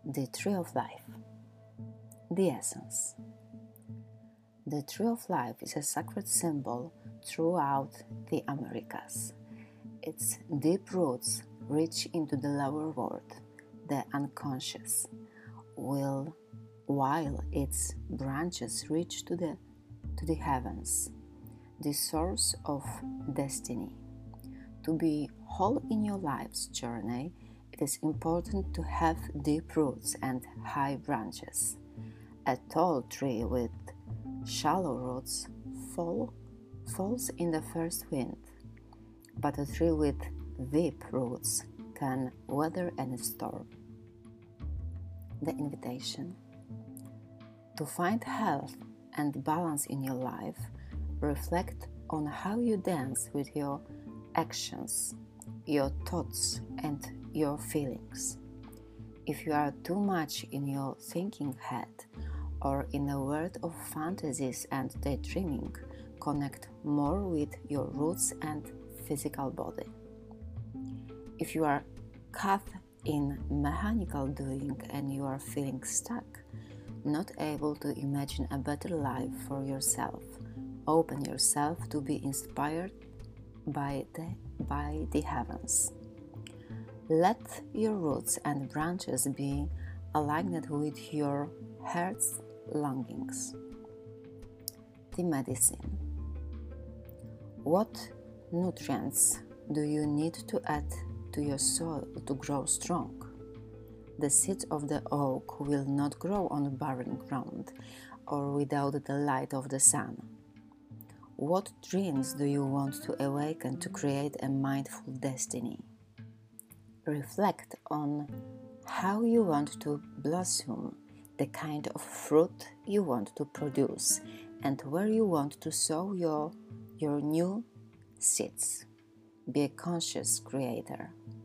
The Tree of Life. The essence. The Tree of Life is a sacred symbol throughout the Americas. Its deep roots reach into the lower world, the unconscious, while its branches reach to the heavens, the source of destiny. To be whole in your life's journey, it is important to have deep roots and high branches. A tall tree with shallow roots falls in the first wind, but a tree with deep roots can weather any storm. The invitation. To find health and balance in your life, reflect on how you dance with your actions, your thoughts, and your feelings. If you are too much in your thinking head or in a world of fantasies and daydreaming, connect more with your roots and physical body. If you are caught in mechanical doing and you are feeling stuck, not able to imagine a better life for yourself, open yourself to be inspired by the heavens. Let your roots and branches be aligned with your heart's longings. The medicine. What nutrients do you need to add to your soil to grow strong? The seeds of the oak will not grow on barren ground or without the light of the sun. What dreams do you want to awaken to create a mindful destiny? Reflect on how you want to blossom, the kind of fruit you want to produce, and where you want to sow your new seeds. Be a conscious creator.